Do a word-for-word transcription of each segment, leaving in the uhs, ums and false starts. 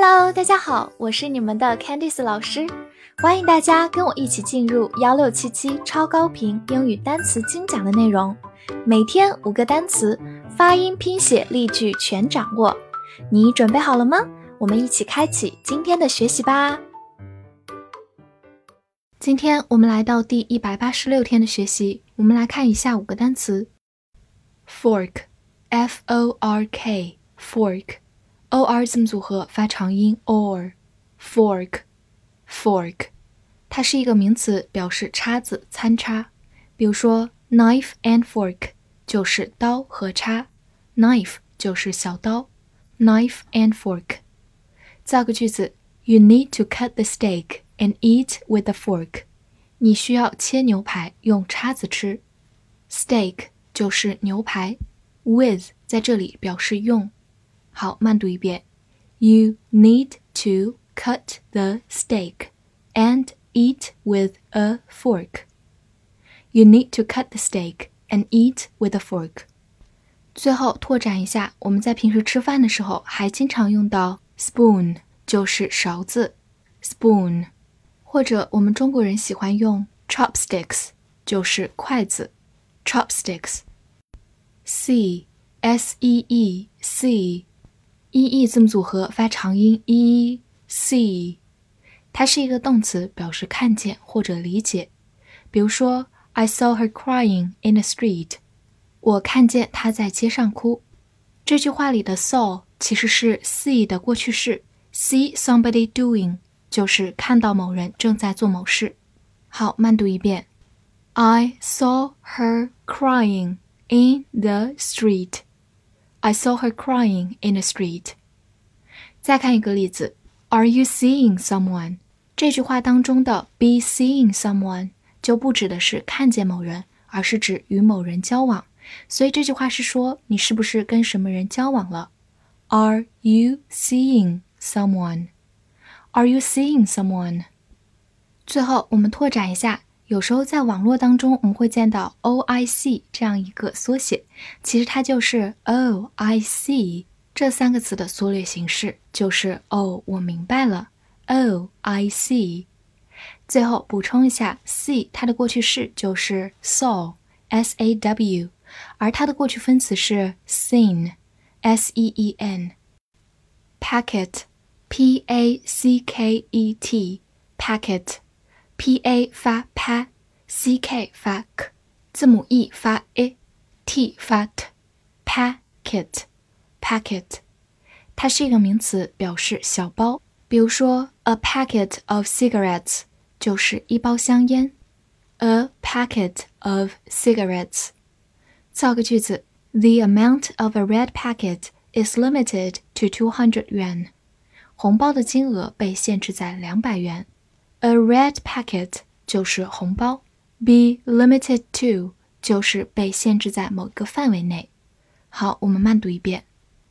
Hello， 大家好，我是你们的 Candice 老师，欢迎大家跟我一起进入一六七七超高频英语单词精讲的内容，每天五个单词，发音、拼写、例句全掌握。你准备好了吗？我们一起开启今天的学习吧。今天我们来到第一百八十六天的学习，我们来看一下五个单词。Fork F O R K Fork O R 字母组合发长音 or Fork Fork 它是一个名词，表示叉子、餐叉。比如说 Knife and fork 就是刀和叉， Knife 就是小刀， Knife and fork。 造个句子 You need to cut the steak and eat with a fork 你需要切牛排用叉子吃。 Steak 就是牛排， with 在这里表示用。好，慢读一遍 You need to cut the steak and eat with a fork You need to cut the steak and eat with a fork 最后拓展一下，我们在平时吃饭的时候还经常用到 spoon 就是勺子 spoon 或者我们中国人喜欢用 chopsticks 就是筷子 chopsticks See S E E See E E 字母组合发长音 E see 它是一个动词，表示看见或者理解。比如说 I saw her crying in the street 我看见她在街上哭。这句话里的 saw 其实是 see 的过去式， see somebody doing 就是看到某人正在做某事。好，慢读一遍 I saw her crying in the street I saw her crying in the street 再看一个例子 Are you seeing someone 这句话当中的 be seeing someone 就不指的是看见某人，而是指与某人交往，所以这句话是说你是不是跟什么人交往了。 Are you seeing someone Are you seeing someone 最后我们拓展一下，有时候在网络当中我们会见到 O I C 这样一个缩写，其实它就是 Oh I see 这三个词的缩略形式，就是哦我明白了 Oh I see 最后补充一下 see 它的过去式就是 saw S A W 而它的过去分词是 seen S E E N Packet P A C K E T Packet P A 发 pa C K 发 k 字母 E 发 i T 发 t Packet Packet 它是一个名词，表示小包。比如说 A packet of cigarettes 就是一包香烟 A packet of cigarettes 造个句子 The amount of a red packet is limited to two hundred yuan 红包的金额被限制在两百元。A red packet 就是红包， be limited to 就是被限制在某个范围内。好，我们慢读一遍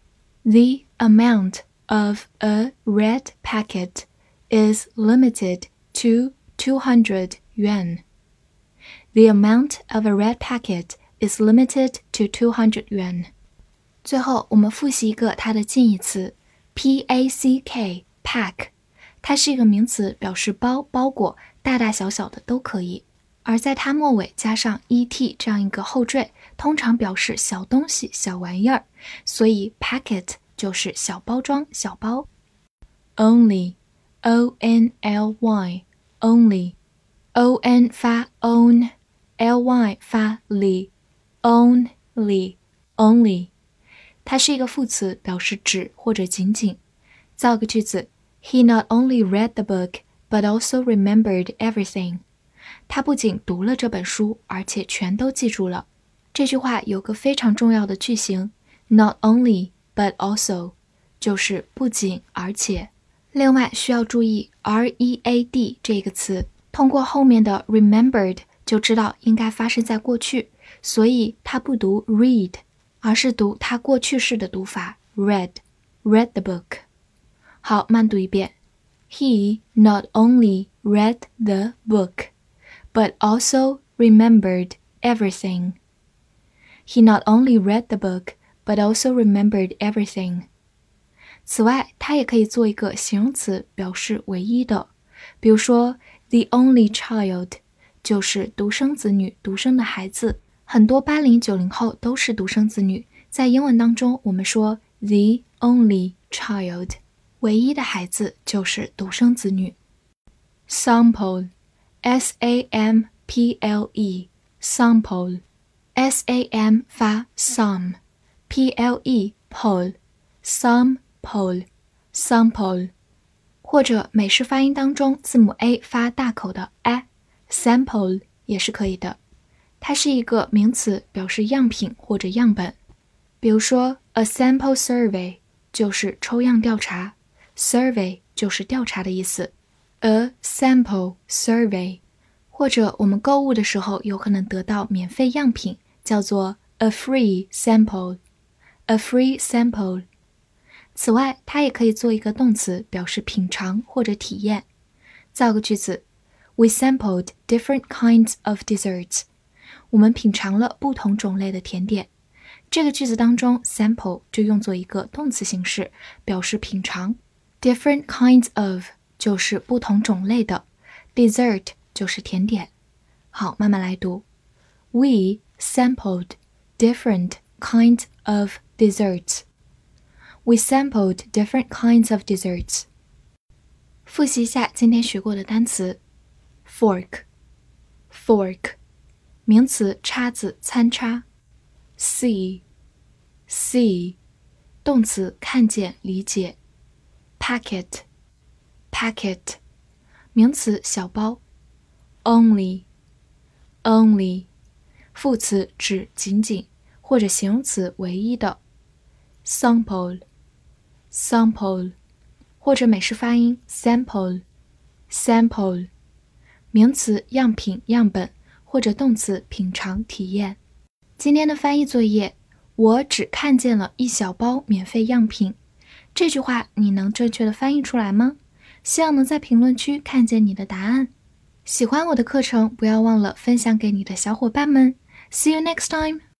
The amount of a red packet is limited to two hundred yuan The amount of a red packet is limited to two hundred yuan 最后我们复习一个它的近义词 P A C K pack它是一个名词，表示包、包裹，大大小小的都可以。而在它末尾加上 et 这样一个后缀，通常表示小东西、小玩意儿，所以 packet 就是小包装、小包。Only O N L Y Only O N 发 own L Y 发 li Only Only 它是一个副词，表示只或者仅仅。造个句子He not only read the book, but also remembered everything. 他不仅读了这本书，而且全都记住了。这句话有个非常重要的句型 not only, but also 就是不仅而且。另外需要注意 R E A D 这个词，通过后面的 remembered 就知道应该发生在过去，所以它不读 read, 而是读它过去式的读法 read, read the book。好，慢读一遍 He not only read the book, but also remembered everything. He not only read the book, but also remembered everything. 此外，它也可以做一个形容词，表示唯一的。比如说 the only child 就是独生子女，独生的孩子。很多八零、九零后都是独生子女，在英文当中我们说 the only child， 唯一的孩子就是独生子女。 sample S A M P L E sample S A M 发 some P L E pole sample sample， 或者美式发音当中字母 A 发大口的 a sample 也是可以的。它是一个名词，表示样品或者样本。比如说 a sample survey 就是抽样调查， survey 就是调查的意思。 a sample survey， 或者我们购物的时候有可能得到免费样品，叫做 a free sample a free sample。 此外，它也可以做一个动词，表示品尝或者体验。造个句子 We sampled different kinds of desserts，我们品尝了不同种类的甜点。这个句子当中 sample 就用作一个动词形式，表示品尝。 different kinds of 就是不同种类的， dessert 就是甜点。好，慢慢来读。 We sampled different kinds of desserts. We sampled different kinds of desserts. 复习一下今天学过的单词。 fork fork名词，叉子，餐叉。 see see 动词，看见，理解。 packet packet 名词，小包。 only only 副词，指仅仅，或者形容词，唯一的。 sample sample 或者美式发音 sample sample 名词，样品，样本，或者动词，品尝，体验。今天的翻译作业，我只看见了一小包免费样品。这句话你能正确的翻译出来吗？希望能在评论区看见你的答案。喜欢我的课程，不要忘了分享给你的小伙伴们。See you next time!